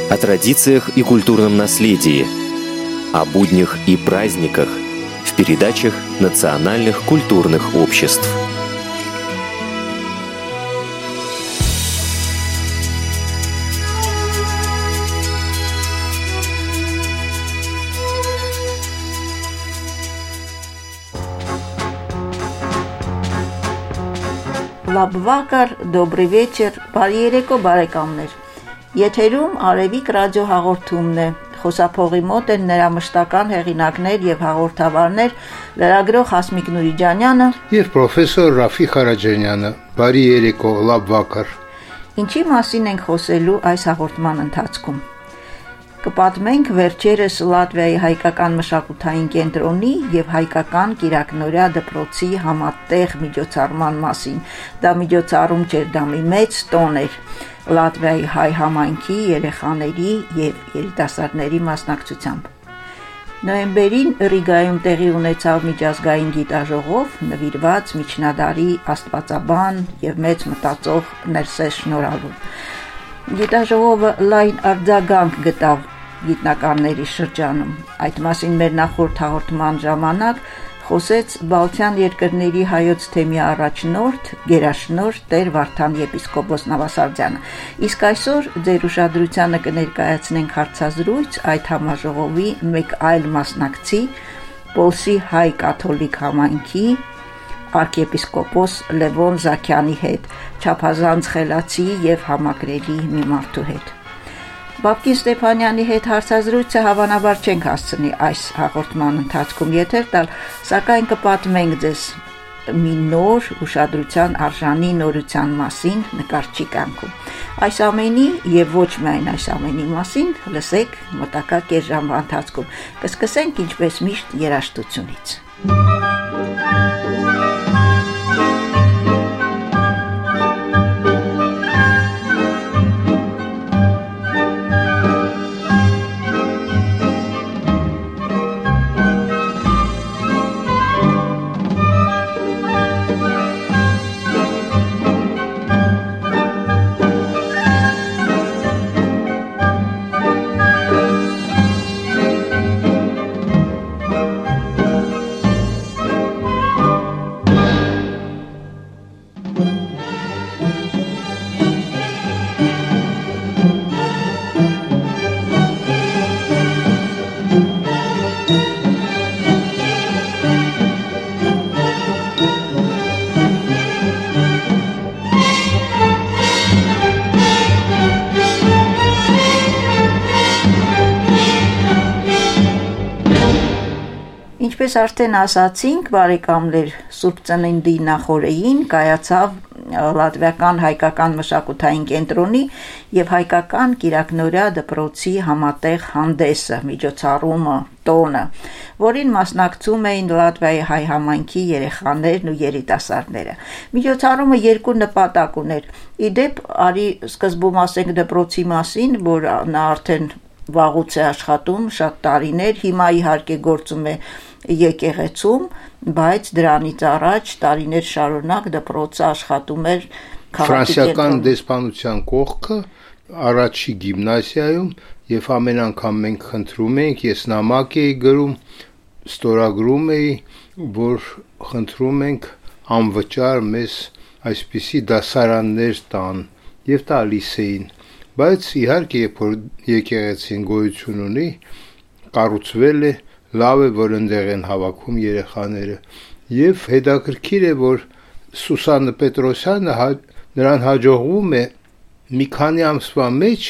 О традициях и культурном наследии, о буднях и праздниках в передачах национальных культурных обществ. Լաբվակար, добрый вечер, բարի երեկո բարեկամներ։ Եթերում Արևիկ ռադիո հաղորդումն է։ Խոսափողի մոտ են նրա մշտական հեղինակներ եւ հաղորդավարներ լրագրող Հասմիկ Նուրիջանյանը եւ պրոֆեսոր Ռաֆիկ Ղարաջանյանը։ Բարի երեկո, լաբվակար։ Ինչի մասին ենք խոսելու այս հաղորդման ընթացքում։ Կպատմենք վերջերս Լատվիայի հայկական մշակութային կենտրոնի եւ հայկական կիրակնորյա դպրոցի համատեղ միջոցառման մասին։ Դա միջոցառում չէր, դա մի մեծ տոն էր Լատվիայի հայ համայնքի երեխաների եւ երիտասարդների մասնակցությամբ։ Նոյեմբերին Ռիգայում տեղի ունեցավ միջազգային գիտաժողով նվիրված միջնադարի աստվածաբան եւ մեծ մտածող Ներսես Շնորհալու։ Գիտաժողովը լայն արձագանք գտավ գիտնականների շրջանում։ Այդ մասին մեր նախորդ հաղորդման ժամանակ խոսեց Բալթյան երկրների հայոց թեմի առաջնորդ, գերաշնորհ Տեր Վարդան եպիսկոպոս Նավասարդյանը։ Իսկ այսօր ձեր ուշադրությանը կներկայացնենք հարցազրույց այդ համաժողովի մեկ այլ մասնակցի, Պոլսի հայ կաթոլիկ համայնքի arciepiscopos Լևոն Զաքյանի հետ, չափազանց խելացի եւ համակրելի մի մարդու հետ։ Բաբկին Ստեփանյանի հետ հարցազրույցը հավանաբար չենք հասցնի այս հաղորդման ընթացքում եթեր տալ, սակայն կպատմենք ձեզ մի նոր ուշադրության արժանի նորության մասին նկարչի կյանքում։ Այս ամենի եւ ոչ միայն այս ամենի մասին լսեք մոտակա կես ժամվա ընթացքում։ Կսկսենք ինչպես միշտ երաժշտությունից։ Ինչպես արդեն ասացինք, բարեկամներ, Սուրբ Ծննդի նախօրեին կայացավ Լատվիական հայկական մշակութային կենտրոնի եւ հայկական կիրակնորյա դպրոցի համատեղ հանդեսը, միջոցառումը, տոնը, որին մասնակցում էին Լատվիայի հայ համայնքի երեխաներն ու երիտասարդները։ Միջոցառումը երկու նպատակ ուներ։ Իդեպ, արի սկզբում ասենք դպրոցի մասին, որ նա արդեն վաղուց է աշխատում, շատ տարիներ, հիմա իհարկե գործում է եկեղեցում, բայց դրանից առաջ տարիներ շարունակ դպրոցը աշխատում էր Ֆրանսիական դեսպանության կողքը առաջի գիմնազիայում եւ ամեն անգամ մենք խնդրում ենք, ես նամակ էի գրում, ստորագրում էի, որ խնդրում ենք անվճար մեզ այսպիսի դասարաններ տան եւ տալիս էին, բայց իհարկե երբ որ եկեղեցին գոյություն ունի, կառուցվել է, լավ է, որ ընդեղ են հավաքում երեխաները եւ հետաքրքիր է, որ Սուսաննա Պետրոսյանը նրան հաջողվում է մի քանի ամսվա մեջ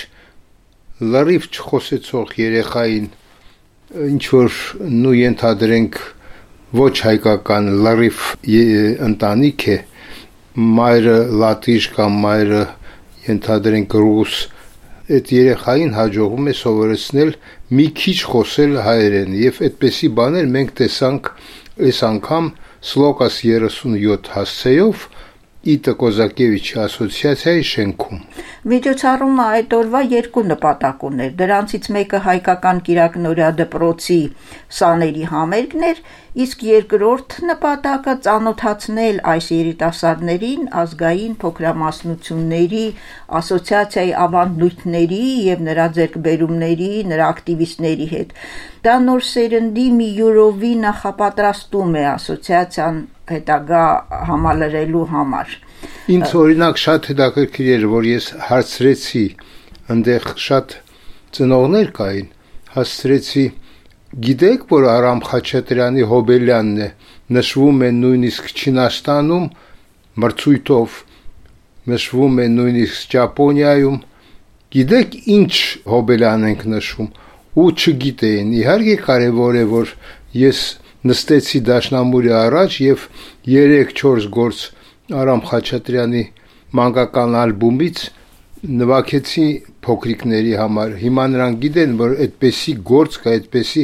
լրիվ չխոսեցող երեխային ինչ որ նու ենթադրենք ոչ հայկական լրիվ ընտանիք է, մայրը լատիշ կամ մայրը ենթադրենք ռուս, այդ երեխային հաջողվում է սովորեցնել մի քիչ խոսել հայերեն եւ այդպեսի բաներ մենք տեսանք այս անգամ Սլոկաս 37 հասցեով Իտա Կոզակևիչի ասոցիացիայի շենքում։ Միջոցառումը այդ օրվա երկու նպատակ ուներ։ Դրանցից մեկը հայկական կիրակնօրյա դպրոցի սաների համերգն էր, իսկ երկրորդ նպատակը ծանոթացնել այս երիտասարդներին ազգային փոքրամասնությունների ասոցիացիայի ավանդույթների եւ նրա ձեռքբերումների, նրա ակտիվիստների հետ։ Դա նոր սերնդի մի յուրովի նախապատրաստում է ասոցիացիան հետագա համալրելու համար։ Ինձ օրինակ շատ հետաքրքիր էր, որ ես հարցրեցի, այնտեղ շատ ծնողներ կային, հասցրեցի, գիտեք, որ Արամ Խաչատրյանի Հոբելյանն է, նշվում է նույնիսկ Չինաստանում, մրցույթով նշվում է նույնիսկ Ճապոնիայում, գիտեք ինչ Հոբելյան ենք նշում, ու չգիտեին, իհարկե կարևոր է, որ ես նստեցի դաշնամուրի առաջ և 3-4 գործ Արամ Խաչատրյանի մանկական ալբոմից նվագեցի փոքրիկների համար։ Հիմա նրանք գիտեն, որ այդպեսի գործ կա, այդպեսի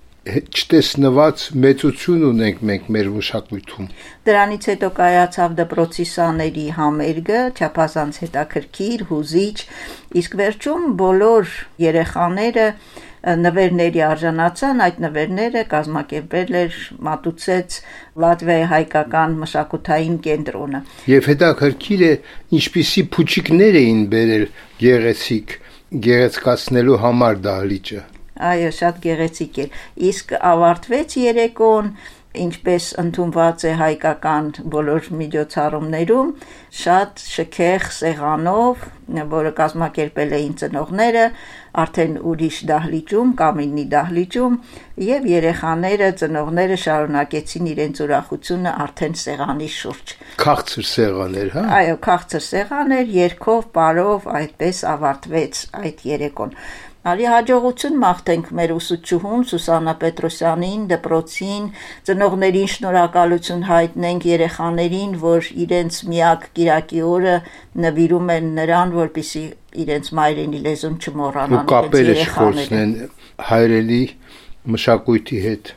չտեսնված մեծություն ունենք մենք մեր մշակույթում։ Դրանից հետո կայացավ դպրոցի սաների համերգը, չափազանց հետաքրքիր, հուզիչ, իսկ վերջում բոլոր երեխաները նվերների արժանացան, այդ նվերները կազմակերպել էր, մատուցեց Լատվիայի հայկական մշակութային կենտրոնը։ Եվ հետաքրքիր է, ինչպիսի փուչիկներ էին բերել գեղեցիկ, գեղեցկացնելու համար դահլիճը։ Այո, շատ գեղեցիկ էր։ Իսկ ավարտվեց երեկոն, ինչպես ընդունված է հայկական բոլոր միջոցառումներում, շատ շքեղ սեղանով, որը կազմակերպել էին ծնողները, արդեն ուրիշ դահլիճում, Կամինի դահլիճում, եւ երեխաները, ծնողները շարունակեցին իրենց ուրախությունը արդեն սեղանի շուրջ։ Քաղցր սեղաներ, հա։ Այո, քաղցր սեղաներ, երգով, պարով, այդպես ավարտվեց այդ երեկոն։ Արի հաջողություն մաղթենք մեր ուսուցչուհուն Սուսաննա Պետրոսյանին, դպրոցին, ծնողներին շնորհակալություն հայտնենք երեխաներին, որ իրենց միակ կիրակի օրը նվիրում են նրան, որպեսզի իրենց մայրենի լեզուն չմոռանան։ Ու կապերը չխորցնեն հայրենի մշակույթի հետ։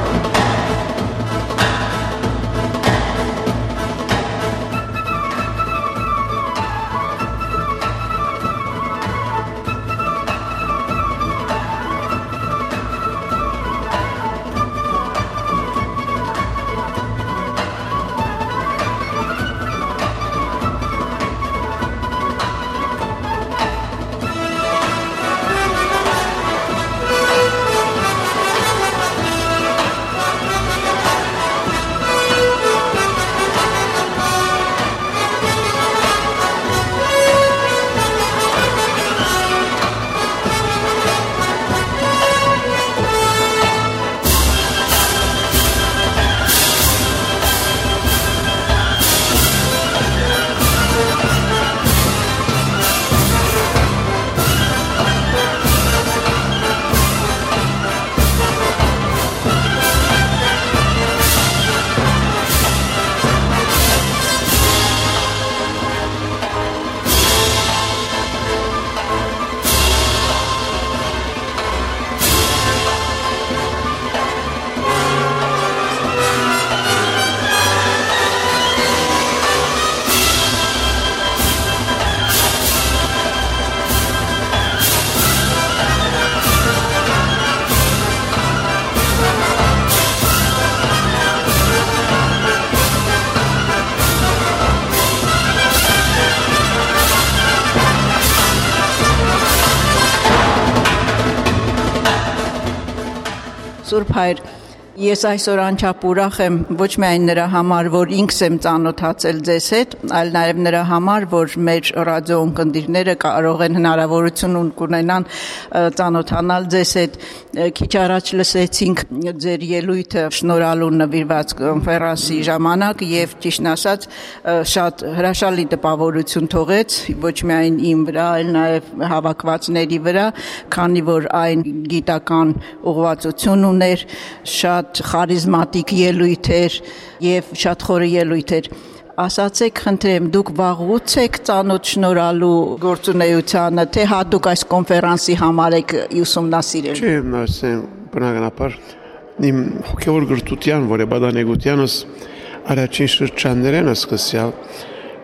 Սուրբ Հայր, ես այսօր անչափ ուրախ եմ ոչ միայն նրա համար, որ ինքս եմ ծանոթացել ձեզ հետ, այլ նաև նրա համար, որ մեր ռադիո ունկնդիրները կարող են հնարավորություն ունենան ծանոթանալ ձեզ հետ։ Քիչ առաջ լսեցինք ձեր ելույթը շնորհալու նվիրված կոնֆերանսի ժամանակ եւ ճիշտն ասած շատ հրաշալի տպավորություն թողեց ոչ միայն իմ վրա, այլ նաև հավաքվածների վրա, քանի որ այն գիտական ուղղվածություն ուներ, շատ խարիզմատիկ ելույթ էր եւ շատ խորը ելույթ էր։ Ասացեք, խնդրեմ, դուք վաղուց եք ծանոթ շնորհալու գործունեությանը, թե հատուկ այս կոնֆերանսի համար եք ուսումնասիրել։ Չէ, ասեմ, բնականաբար իմ հոգևոր գրթության, որը բադանեգությանս առաջին շրջաններն է սկսյալ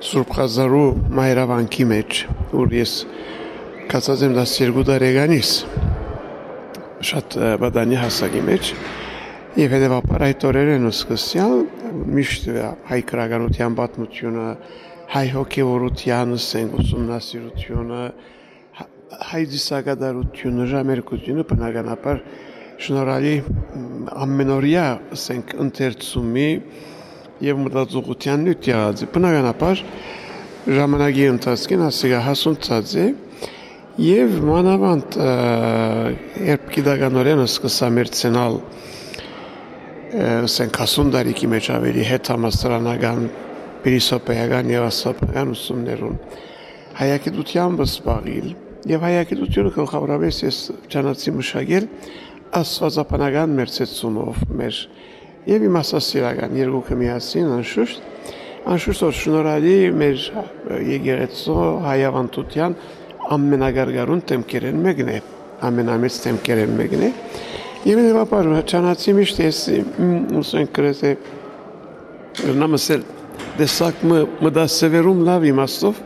Սուրբ Ղազարու մայրավանքի մեջ, որ ես կացած եմ 12 տարեկանից, շատ բադանի հասակի մեջ, եւ հետեւաբար այդ օրերն սկսյալ միշտ հայ քրագանության պատմությունը, հայ հոգեվորության ուսումնասիրությունը, հայ դիսագադարությունը, ժամերկությունը բնականաբար շնորհալի ամենօրյա ընթերցումի եւ մտածողության նյութ եղած է։ Բնականաբար ժամանակի ընթացքին ասիգա հասունցած է եւ մանավանդ երբ գիտականորեն սկսա մերցենալ հասուն տարիքի մեջ ավելի հետ համասարանական փիլիսոփայական եւ աստվածական ուսումներուն հայագիտությամբ զբաղիլ եւ հայագիտությունը գլխավորապես ես ճանաչի մշակել աստվածապանական մերձեցումով մեր եւ իմաստասիրական երկուքը միասին անշուշտ որ շնորհալի մեր եկեղեցու հայավանդության ամենագարգարուն թեմքերեն մեկն է ամենամեծ թեմքերեն մեկն է եւ հետեւաբար ճանաչի միշտ ես ուսեն կրեթե նամասել դեսակ մդասևերում լավ իմաստով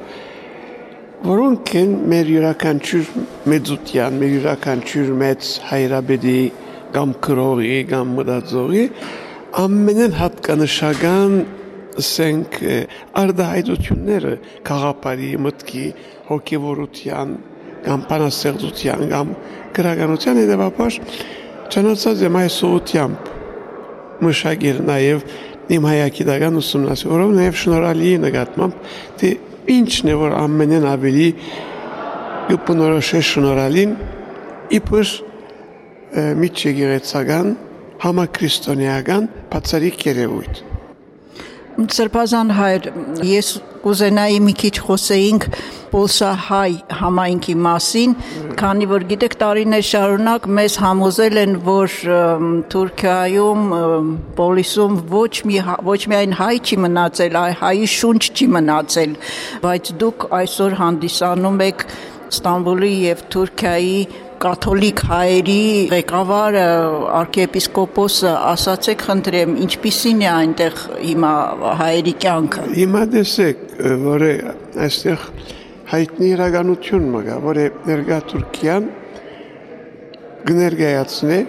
որոնք են մեր յուրաքանչյուր մեծության մեր յուրաքանչյուր մեծ հայրաբեդի կամ քրողի կամ մտածողի ամենեն հատկանշական ասենք արդահայտությունները քաղաքապարի մտքի հոգևորության կամ բանաստեղծության կամ գրականության հետևաբար ճանաչած եմ այս ուղղությամբ մշակել նաև իմ հայագիտական ուսումնասիրությունը որով նաև շնորհալի նկատմամբ թե ինչն է որ ամենեն ավելի կբնորոշե շնորհալին իբր միջեկեղեցական համաքրիստոնեական բացառիկ երևույթ Սրբազան հայր, ես կուզենայի մի քիչ խոսեինք պոլսահայ համայնքի մասին, քանի որ գիտեք տարիներ շարունակ մեզ համոզել են, որ Թուրքիայում, Պոլիսում ոչ միայն հայ չի մնացել, այլ հայի շունչ չի մնացել, բայց դուք այսօր հանդիսանում եք Ստամբուլի եւ Թուրքիայի կաթոլիկ հայերի ղեկավարը arczepiskopos-ը ասացեք խնդրեմ ինչպիսին է այնտեղ հիմա հայերի կյանքը Հիմա տեսեք որ այստեղ հայտնի իրականություն մգա որ ներկա Թուրքիան կներկայացնի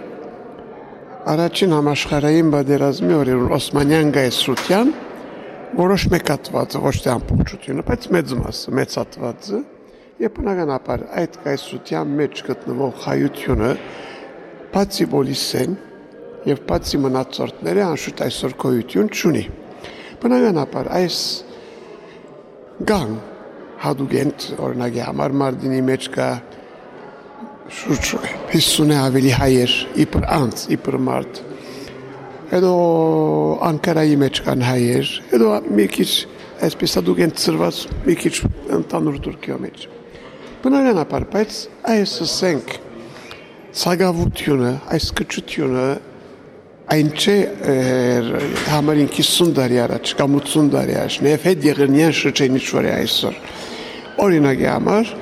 առաջին համաշխարհային պատերազմի օրերուն Օսմանյան գայսրության որոշ մեկատված ոչ թե ամբողջությունը բայց մեծ մասը մեծատվածը Եվ բնականաբար այդ կայսրության մեջ գտնվող հայությունը բացի Պոլիսեն եւ բացի մնացորդները անշուշտ այսօր գոյություն չունի։ Բնականաբար այս գան հադուգենտ օրինակի համար Մարտինի մեջ կա շուրջ 50 ավելի հայեր իբր անց իբր մարդ։ Հետո Անկարայի մեջ կան հայեր, հետո մի քիչ այսպես հադուգենտ ծրված մի քիչ ընդանուր Թուրքիա մեջ։ Բնականաբար, բայց այս ասենք ցագավությունը, այս կճությունը այն չէ համարին 50 տարի առաջ կամ 80 տարի առաջ, նաև հետ եղերնյան շրջանից որ է այսօր։ Օրինակի համար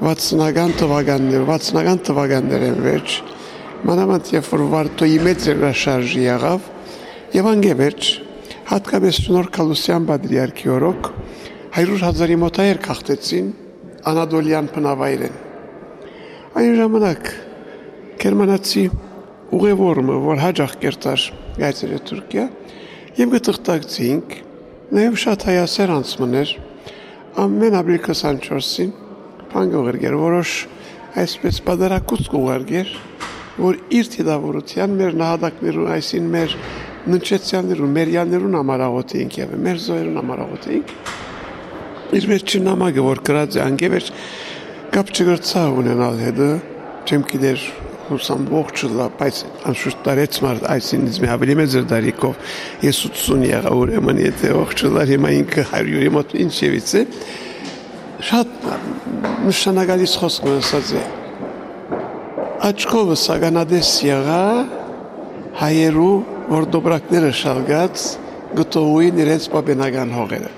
60-ական թվականներն վերջ, մանավանդ երբ որ Վարդոյի մեծ երաշարժի եղավ, եւ անգևերջ հատկապես Շնորհ Կալուսյան պատրիարքի օրոք 100,000-ի մոտ հայեր քաղտեցին Անադոլյան բնավայրեն։ Այն ժամանակ գերմանացի ուղևորը, որ հաջող կերտար գայցեր Թուրքիա, եւ գտղտակցինք, նաեւ շատ հայասեր անցմներ, ամեն ապրիլ 24-ին բանգողերգեր, որոշ այսպես պատարակուց կուղարգեր, որ իր թիդավորության մեր նահատակներուն, այսին մեր ննչեցյաններուն, մեր յաններուն ամարաղոտ էինք եւ մեր զոյերուն ամարաղոտ էինք Իր վերջին նամակը, որ գրած է անգևեր, կապ չգրծա ունենալ հետը, չեմ գիտեր հուսամ ողջլա, բայց անշուշտ տարեց մարդ այսին իզ մի ավելի մեծ դարիքով, ես 80 եղա ուրեմն եթե ողջլար հիմա ինքը 100-ի մոտ ինչ եվից է, շատ նշանակալից խոսք ասած է, աչքովը սագանադես եղա հայերու, որ դոբրակները շալգած գտողույն իրենց պապենական հողերը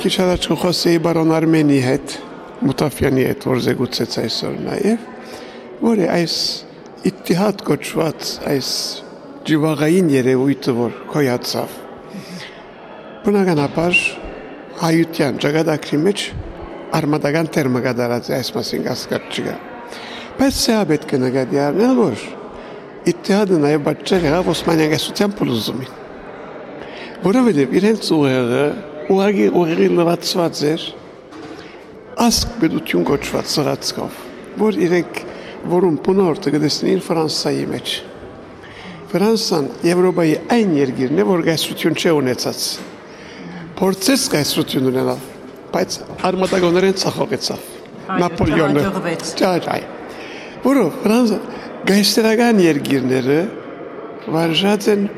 քիչ առաջ խոսեի բարոն Արմենի հետ, Մուտաֆյանի հետ, որ զեկուցեց այսօր նաև, որը այս Իթիհադ կոչված այս ջիվաղային երևույթը, որ կոյացավ, բնականաբար հայության ճակատագրի մեջ արմատական տերմը կատարած է, այս մասին կասկած չկա։ Բայց սա պետք է նկատի առնել, որ Իթիհադը նաև պատճառ եղավ Օսմանյան կայսրության փլուզումին, որովհետև իրենց ուղղակի լրացված էր ասկ պետություն կոչված սրացքով, որ իրենք որում բնորդը կտեսնեին Ֆրանսայի մեջ։ Ֆրանսան Եվրոպայի այն երկիրն է, որ կայսրություն չէ ունեցած։ Փորձեց կայսրություն ունենալ, բայց արմատականորեն ցախողեցավ։ Նապոլեոնը ճաճայ։ Որով Ֆրանսա կայսրական երկիրները վարժած են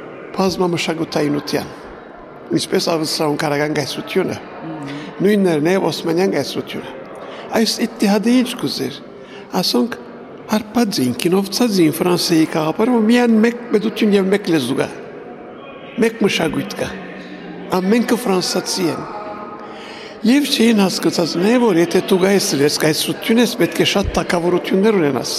բազմամշակութայնության, ինչպես Ավստրիան կարական կայսրությունը, նույնն է Օսմանյան կայսրությունը։ Այս Իթիհադը ինչ կուզեր, ասոնք հարբած էին, կինովցած էին Ֆրանսիայի կաղապարը, միայն մեկ պետություն և մեկ լեզու կա, մեկ մշակույթ կա, ամենքը ֆրանսացի են։ Եվ չէին հասկացած նա, որ եթե դու կայսրություն ես, պետք է շատ թագավորություններ ունենաս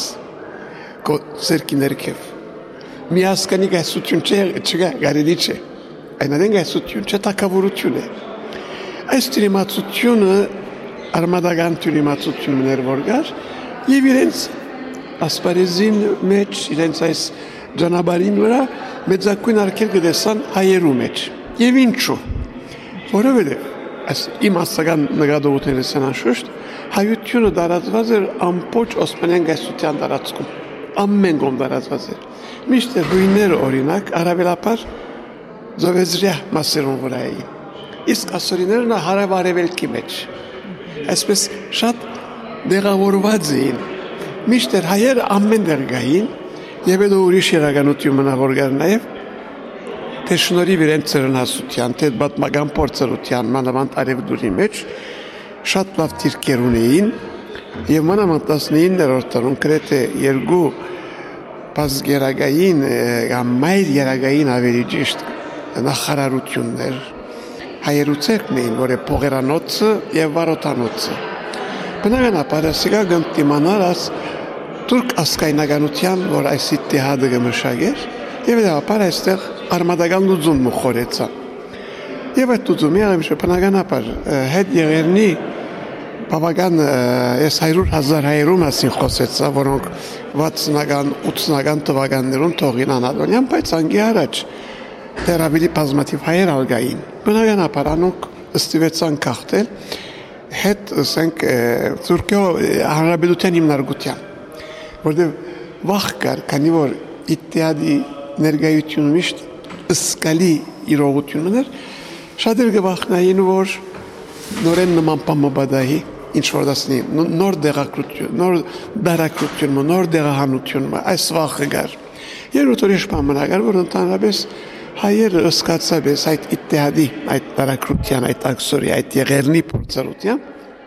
քո սերքի ներքև։ Մի հասկանի կայսրություն չկա, կարելի չէ։ Այնադեն կայսրություն չէ, թագավորություն է։ Այս թյուրիմացությունը արմատական թյուրիմացությունն էր, որ կար, եւ իրենց ասպարեզին մեջ, իրենց այս ճանապարհին վրա մեծակույն արգել կտեսան հայերու մեջ։ Եվ ինչու։ Որովհետև իմ ասական նկատողությունից անշուշտ հայությունը տարածված էր ամբողջ Օսմանյան կայսրության տարածքում, ամեն կողմ տարածված էր։ Միշտ հույները օրինակ առավելապես ծովեզրյա մասերուն վրա էին, իսկ ասորիները հարավ-արևելքի մեջ, այսպես շատ դեղավորված էին։ Միշտ հայերը ամեն դեր գային, եւ հետո ուրիշ իրականություն մնա որ գար նաեւ թե շնորհիվ իրենց ծերնասության, թե պատմական փորձառության մանավանդ արևդուրի մեջ շատ լավ դիրքեր ունեին եւ մանավանդ 19-րդ դարում գրեթե երկու բազգերագային կամ մայր երագային ավելի ճիշտ նախարարություններ հայերուցերքն էին, որ է Փողերանոցը եւ Վարոթանոցը։ Բնականաբար ասիկա գտնիմանալ աս թուրք ասկայնականության, որ այս Իթիհադը կմշակեր եւ դեպար այստեղ արմատական լուծում մխորեցա։ Եվ այդ լուծումի բնականաբար հետ եղերնի բավական ես 100,000 հայերու մասին խոսեցա, որոնք 60-ական, 80-ական թվականներում թողին Անատոլիան, բայց անգի առաջ դեռ ավելի բազմաթիվ հայեր ալգային։ Բնականաբար անոնք ստիվեցան կախտել հետ ասենք Թուրքիո հանրապետության հիմնարկության, որտեղ վախ կար, քանի որ Իթիհադի ներկայությունը միշտ սկալի իրողություն ուներ, շատեր կվախնային, որ նորեն նման պամաբադահի ինչ որ դասնի, նոր դեղակրություն, նոր դարակրություն, նոր դեղահանություն, այս վախը գար։ Երբ ուրիշ պամնակար, որ ընդհանրապես հայերը ըսկացաբես այդ Իթիհադի, այդ դարակրության, այդ աքսորի, այդ եղերնի փորձառության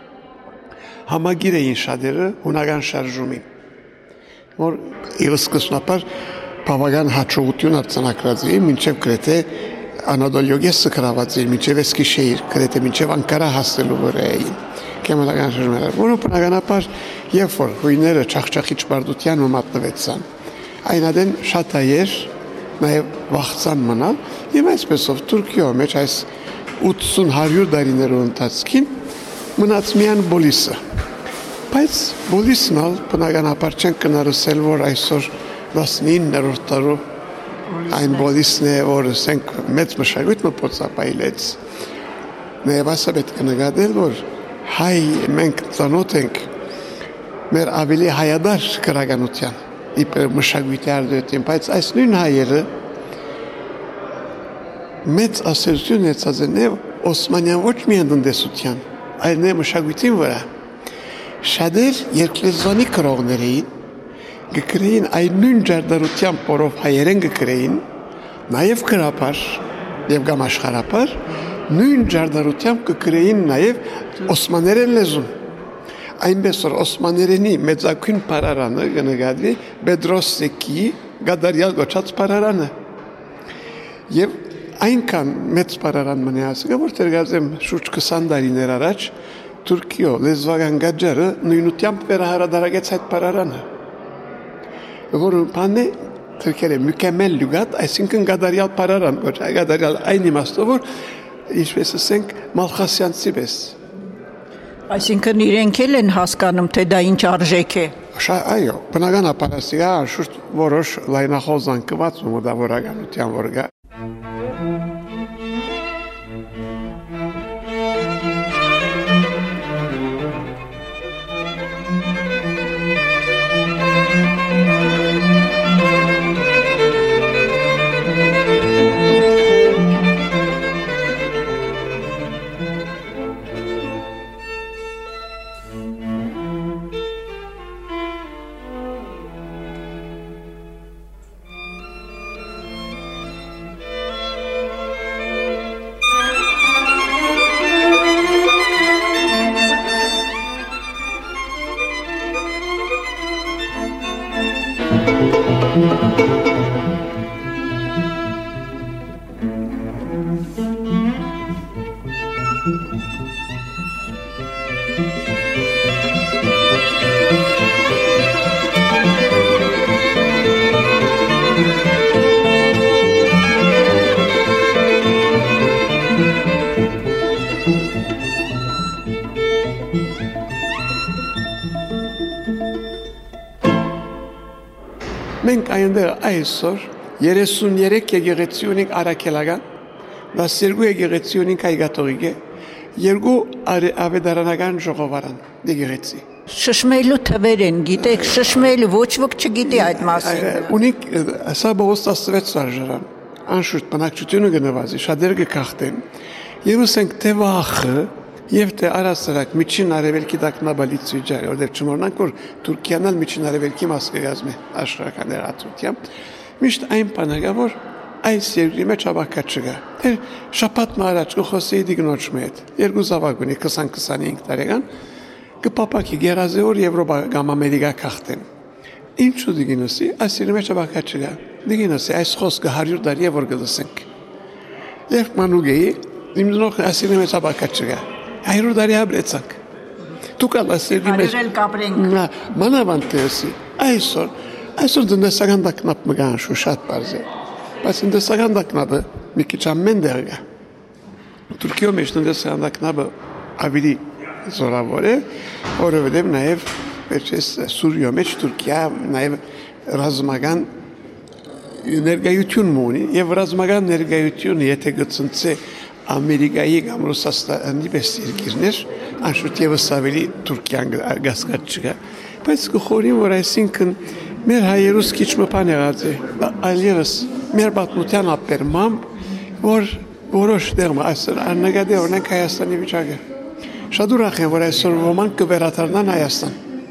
համագիր էին շատերը հունական շարժումին, որ իրսկսնապար բավական հաջողություն արձանագրած էին, մինչև գրեթե Անադոլիոգեսը գրաված էին, մինչև Էսկիշեհիր, գրեթե մինչև Անկարա հասնելու վրա էին։ Կեմալական շրջաններ, որը բնականաբար երբ որ հույները չախչախիչ բարդության մատնվեցան, այնադեն շատ հայեր նաև վախցան մնալ եւ այսպեսով Թուրքիո մեջ այս 80-100 տարիներու ընթացքին մնաց միայն Բոլիսը։ Բայց Բոլիսն ալ բնականաբար չեն կնարսել, որ այսօր 19-րդ դարու այն Բոլիսն է, որ ասենք մեծ մշակույթը փոխապայլեց։ Նաև ասա պետք է նկատել, որ հայ մենք ծանոթ ենք մեր ավելի հայադար քրագանության իբր մշակույթի արդյունքին, բայց այս նույն հայերը մեծ ասերություն ունեցած են Օսմանյան ոչ միայն տնտեսության, այլ նաև մշակույթին վրա։ Շատեր երկլեզվանի կրողներ էին, գկրեին այն նույն ջարդարությամբ, որով հայերեն գկրեին, նաև գրապար եւ կամ աշխարհապար, նույն ջարդարությամբ կգրեին նաև օսմաներեն լեզուն։ Այնպես որ օսմաներենի մեծակույն պարարանը կնկատվի Բեդրոսեկի գադարյալ գոչած պարարանը։ Եվ այնքան մեծ բարարան մնացել, որտեղ գազեմ շուրջ 20 տարիներ առաջ Թուրքիո լեզվական գաճարը նույնությամբ վերահրադարագեց այդ բարարանը։ Որը բանը Թուրքերը մükemmel լուգատ, այսինքն գադարյալ բարարան, ոչ գադարյալ այն իմաստով, որ ինչպես ասենք մալխասյանցի պես։ Այսինքն իրենք էլ են հասկանում, թե դա ինչ արժեք է։ Այո, բնականաբար ասիա շուրջ որոշ լայնախոզանքված ու մտավորականության որ գա։ Մենք այնտեղ այսօր 33 եկեղեցի ունենք արաքելական, 12 եկեղեցի ունենք հայկաթողիկ, 2 ավետարանական ժողովարան եկեղեցի։ Շշմելու թվեր են, գիտեք, շշմել ոչ ոք չգիտի այդ մասին։ Ունենք սա բողոս 16 սարժարան, անշուշտ բնակչությունը գնվածի, շատերը կքախտեն, եւ ասենք թե վախը Եվ թե առասարակ միջին արևելքի տակնաբալից վիճակը, որտեղ չմոռանանք, որ Թուրքիան էլ միջին արևելքի մաս կգազմի աշխարհական ներածությամբ, միշտ այն բանը որ այս երկրի մեջ ավակա չկա։ Թե շաբաթ առաջ կխոսեի դիգնոջ հետ, երկու զավակ ունի 20-25 տարեկան, կպապակի գերազեոր Եվրոպա կամ Ամերիկա քաղտեն։ Ինչու դիգնոսի, այս երկրի մեջ ավակա չկա։ Դիգնոսի այս խոսքը 100 տարի որ գլսենք։ Եվ մանուգեի իմ դնող այս երկրի մեջ ավակա չկա։ Այրու դարի հաբրեցանք։ Դուք ասել մեջ այրել կապրենք։ Մանավանտեսի այսօր դնեսական դակնապ մգան շու շատ բարձ է։ Բայց դնեսական դակնապը մի քիչ ամեն դեռ կա։ Թուրքիո մեջ դնեսական դակնապը ավելի զորավոր է, որովհետև նաև վերջես Սուրիո մեջ Թուրքիա նաև ռազմական ներկայություն ունի եւ ռազմական ներկայությունը եթե գծնցե Ամերիկայի կամ Ռուսաստանի պես երկիրներ, անշուշտ եւս ավելի Թուրքիան գասկած չկա։ Բայց կխորին, որ այսինքն մեր հայերուս քիչ մփան եղած է, այլևս մեր պատմության ապերմամբ, որ որոշ դերում այսօր աննկատի օրինակ Հայաստանի վիճակը։ Շատ ուրախ եմ, որ այսօր ոմանք կվերադառնան Հայաստան։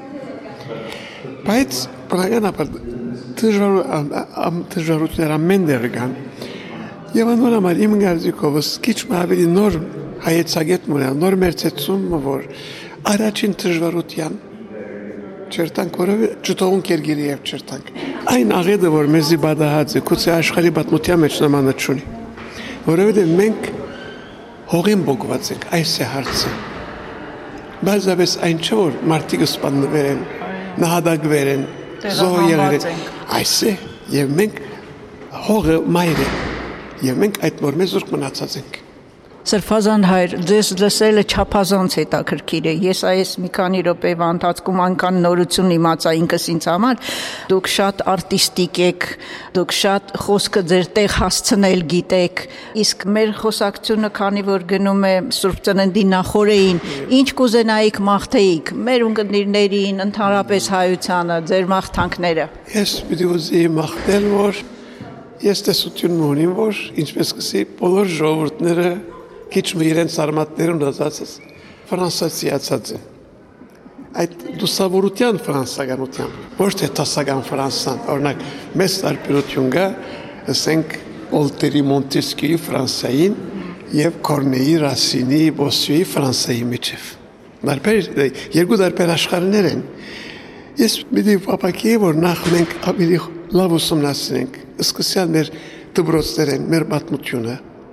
Բայց բնականաբար դժվարություններ ամեն դեր կան։ Եվ անորամար իմ գարձիկովս քիչ ավելի նոր հայեցագետ մնալ, նոր մերցեցումը, որ առաջին դժվարության չերտանք, որով չթողուն կերգիրի եւ չերտանք։ Այն աղետը, որ մեզի բադահած է, կուցե աշխարհի պատմության մեջ նմանը չունի։ Որովհետեւ մենք հողին բոգված ենք, այս է հարցը։ Բազավես այն չէ, որ մարդիկը սպանվել են, նահատակվել են, զոհ եղել են։ Այս է, եւ մենք հողը մայր է։ Եվ մենք այդ նոր մեզ ուրկ մնացած ենք։ Սրբազան հայր, ձեզ լսելը չափազանց հետաքրքիր է։ Ես այս մի քանի րոպեվա ընթացքում այնքան նորություն իմացա ինքս ինձ համար։ Դուք շատ արտիստիկ եք, դուք շատ խոսքը ձեր տեղ հասցնել գիտեք։ Իսկ մեր խոսակցությունը, քանի որ գնում է Սուրբ Ծննդի նախօրեին, ինչ կուզենայիք մաղթեիք մեր ունկնդիրներին, ընդհանրապես հայությանը, ձեր մաղթանքները։ Ես պիտի ուզեի մաղթել, որ ես տեսություն ունեմ, որ ինչպես կսի բոլոր ժողովուրդները քիչ իրենց արմատներում դասած ֆրանսիացած են։ Այդ դուսավորության ֆրանսականության, ոչ թե տասական Ֆրանսան, օրինակ մեծ տարբերություն կա, ասենք Օլտերի Մոնտեսկյուի Ֆրանսիային եւ Կորնեի, Ռասինի, Բոսյուի Ֆրանսիայի միջև։ Երկու տարբեր աշխարհներ են։ Ես մի պապակի որ նախ մենք ավելի լավ ուսումնասիրենք, սկսյալ մեր դպրոցներն, մեր պատմությունը,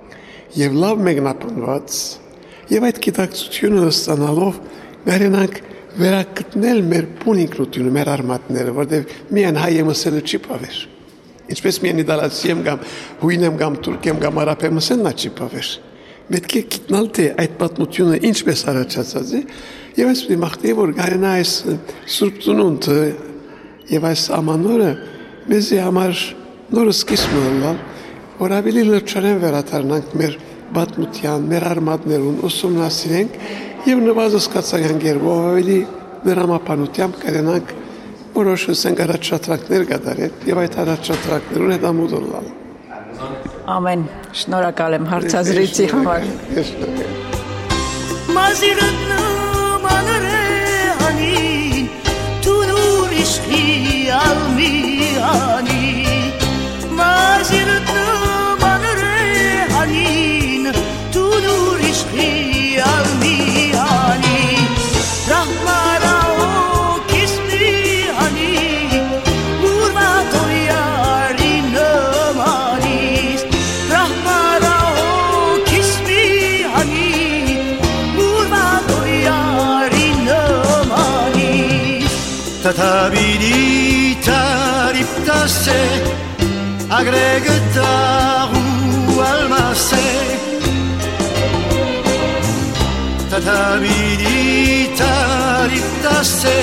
եւ լավ մեկնաբանված եւ այդ գիտակցությունը ստանալով գարենանք վերակտնել մեր բունիկնությունը, մեր արմատները, որտեղ միայն հայ մսելը չի պավեր։ Ինչպես միայն իտալացի եմ կամ հույն եմ կամ թուրք եմ կամ արաբ եմ մսելն չի պավեր։ Պետք է գիտնալ թե այդ պատմությունը ինչպես առաջացած է եւ այս մի մաղթի որ գարենա այս սուրբ ծնունդը եւ այս ամանորը մեզի համար նոր սկիզբ մնալ, որ ավելի լրջորեն վերադառնանք մեր պատմության, մեր արմատներուն ուսումնասիրենք եւ նվազեցկացանք երբով ավելի դրամապանությամբ կրենանք որոշ առաջադրանքներ կատարել եւ այդ առաջադրանքներուն հետ ամուդոնալ։ Ամեն, շնորհակալ եմ հարցազրույցի համար։ Մազիրտնը մանրե անին թունուր իշխի ալմիանի Մազիրտնը մանրե անին թունուր իշխի ալմիանի Ռահմարա Tatabidi tariptase agregataru almase Tatabidi tariptase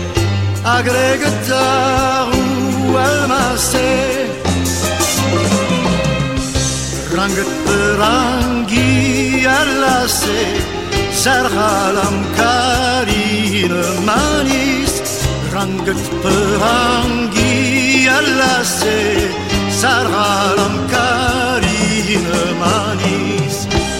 agregataru almase Rangat rangi alase sarhalam karin manis Rangat perangi alase sarhalam karin manis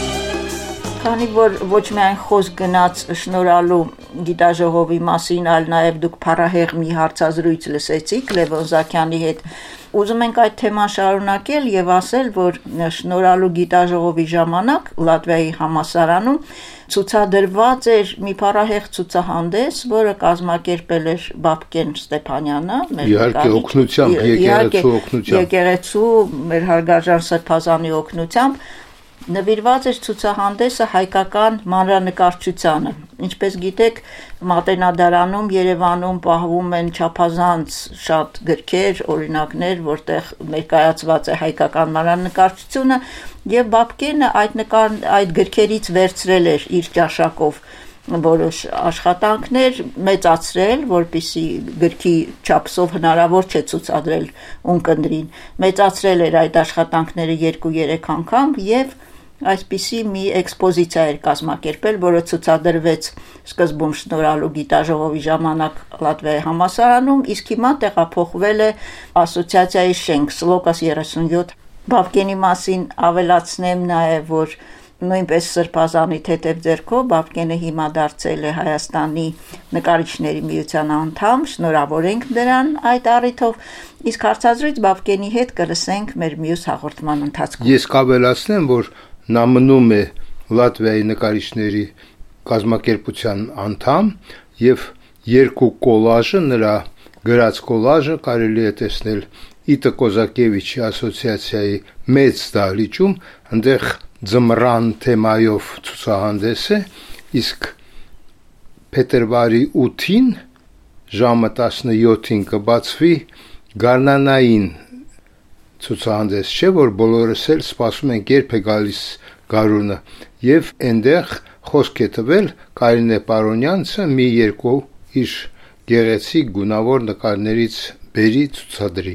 Քանի որ ոչ միայն խոսք գնաց շնորհալու գիտաժողովի մասին, այլ նաև դուք փառահեղ մի հարցազրույց լսեցիք Լևոն Զաքյանի հետ, ուզում ենք այդ թեման շարունակել եւ ասել, որ շնորհալու գիտաժողովի ժամանակ Լատվիայի համալսարանում ցուցադրված էր մի փառահեղ ցուցահանդես, որը կազմակերպել էր Բաբկեն Ստեփանյանը, իհարկե օգնությամբ, եկեղեցու մեր հարգարժան Սրբազանի օգնությամբ նվիրված էր ցուցահանդեսը հայկական մանրանկարչությանը։ Ինչպես գիտեք, Մատենադարանում Երևանում պահվում են չափազանց շատ գրքեր, օրինակներ, որտեղ ներկայացված է հայկական մանրանկարչությունը, եւ Բաբկենը այդ գրքերից վերցրել էր իր ճաշակով որոշ աշխատանքներ մեծացրել, որպեսզի գրքի չափսով հնարավոր չէ ցուցադրել ունկնդրին։ Մեծացրել էր այդ աշխատանքները 2-3 անգամ եւ այսպիսի մի էքսպոզիցիա էր կազմակերպել, որը ցուցադրվեց սկզբում շնորհալու գիտաժողովի ժամանակ Լատվիայի համալսարանում, իսկ հիմա տեղափոխվել է ասոցիացիայի շենք Սլոկաս 37։ Բաբկենի մասին ավելացնեմ նաև, որ նույնպես Սրբազանի թեթև ձեռքով Բաբկենը հիմա դարձել է Հայաստանի նկարիչների միության անդամ, շնորհավորենք դրան այդ առիթով, իսկ հարցազրույց Բաբկենի հետ կլսենք մեր մյուս հաղորդման ընթացքում։ Ես կավելացնեմ, որ նա մնում է Լատվիայի նկարիչների կազմակերպության անդամ եւ երկու կոլաժը, նրա գրած կոլաժը կարելի է տեսնել Իտա Կոզակևիչի ասոցիացիայի մեծ դահլիճում, այնտեղ ձմռան թեմայով ցուցահանդես է, իսկ փետրվարի 8-ին ժամը 17-ին կբացվի գարնանային ցուցահանդես, չէ՞ որ բոլորս էլ սպասում ենք երբ է գալիս գարունը, եւ այնտեղ խոսք է տվել Կարինե Պարոնյանցը մի երկու իր գեղեցիկ գունավոր նկարներից բերի ցուցադրի։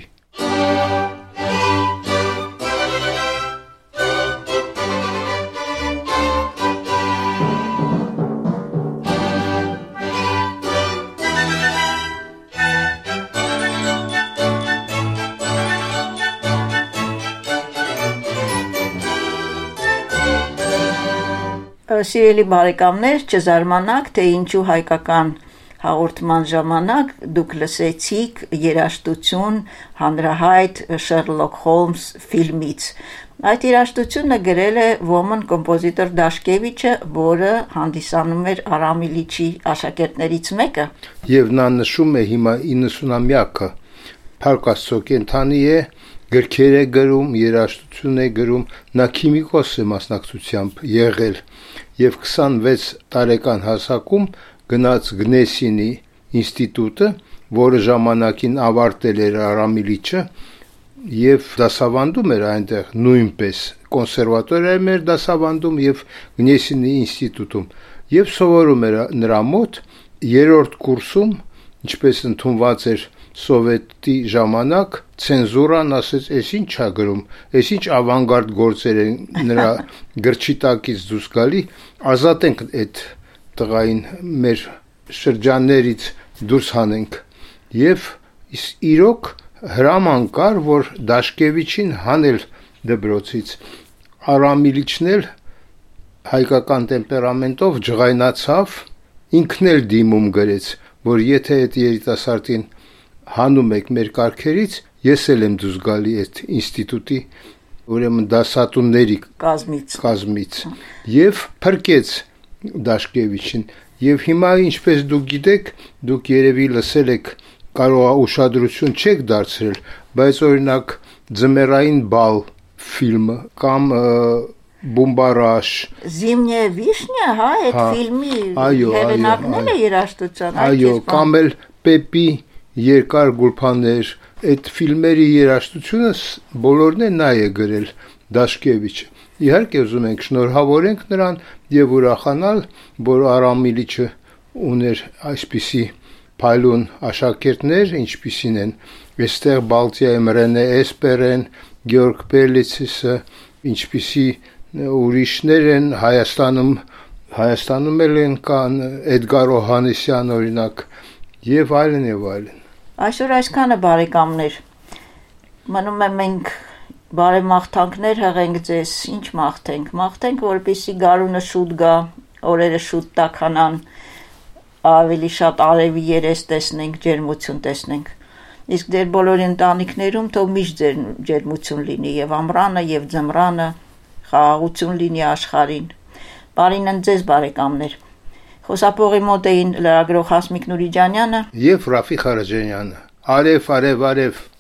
Սիրելի բարեկամներ, չզարմանաք, թե ինչու հայկական հաղորդման ժամանակ դուք լսեցիք երաժշտություն հանրահայտ Շերլոք Հոլմս ֆիլմից։ Այդ երաժշտությունը գրել է ոմն կոմպոզիտոր Դաշկևիչը, որը հանդիսանում էր Արամ Իլիչի աշակերտներից մեկը։ Եվ նա նշում է հիմա 90-ամյակը, Փառք Աստծո կենթանի է գրքեր է գրում, երաժշտություն է գրում, նա քիմիկոս է մասնակցությամբ եղել եւ 26 տարեկան հասակում գնաց Գնեսինի ինստիտուտը, որը ժամանակին ավարտել էր Արամ Իլիչը եւ դասավանդում էր այնտեղ նույնպես կոնսերվատորիայում էր դասավանդում եւ Գնեսինի ինստիտուտում եւ սովորում էր նրա մոտ երրորդ կուրսում, ինչպես ընդունված էր սովետի ժամանակ, ցենզուրան ասեց, «Էս ինչ է գրում, էս ինչ ավանգարդ գործեր են նրա գրչի տակից դուրս գալի, ազատենք այդ տղային մեր շրջաններից դուրս հանենք»։ Եվ իրոք հրաման կար, որ Դաշկևիչին հանել դպրոցից։ Արամ Իլիչն էլ հայկական տեմպերամենտով ջղայնացավ, ինքն էլ դիմում գրեց, որ եթե այդ երիտասարդին հանում եք մեր կարգերից, ես էլ եմ դուրս գալի այդ ինստիտուտի, ուրեմն դասատուների կազմից եւ փրկեց Դաշկևիչին։ Եվ հիմա, ինչպես դուք գիտեք, դուք երևի լսել եք, կարող է ուշադրություն չեք դարձրել, բայց օրինակ Ձմեռային բալ ֆիլմը կամ Բումբարաշ, Զիմնյա Վիշնյա, հա, այդ ֆիլմի հեղինակն է երաժշտության, այո, կամ էլ Պեպի երկար գուլփաներ, այդ ֆիլմերի երաժշտությունը բոլորն է նա է գրել Դաշկևիչը։ Իհարկե ուզում ենք շնորհավորենք նրան եւ ուրախանալ, որ Արամ Իլիչը ուներ այսպիսի փայլուն աշակերտներ, ինչպիսին են այստեղ Բալտիայում Ռենե Էսպերեն, Գեորգ Պելիցիսը, ինչպիսի ուրիշներ են Հայաստանում էլ են կան Էդգար Օհանեսյան օրինակ եւ այլն եւ այլն։ Այսօր այսքանը բարեկամներ։ Մնում է մենք բարեմաղթանքներ հղենք ձեզ, ինչ մաղթենք։ Մաղթենք, որպեսզի գարունը շուտ գա, օրերը շուտ տաքանան, ավելի շատ արևի երես տեսնենք, ջերմություն տեսնենք։ Իսկ ձեր բոլոր ընտանիքներում թող միշտ ջերմություն լինի եւ ամռանը եւ ձմռանը, խաղաղություն լինի աշխարհին։ Բարին ձեզ բարեկամներ։ Խոսափողի մոտ էին լրագրող Հասմիկ Նուրիջանյանը եւ Ռաֆիկ Ղարաջանյանը։ Արև, արև, արև։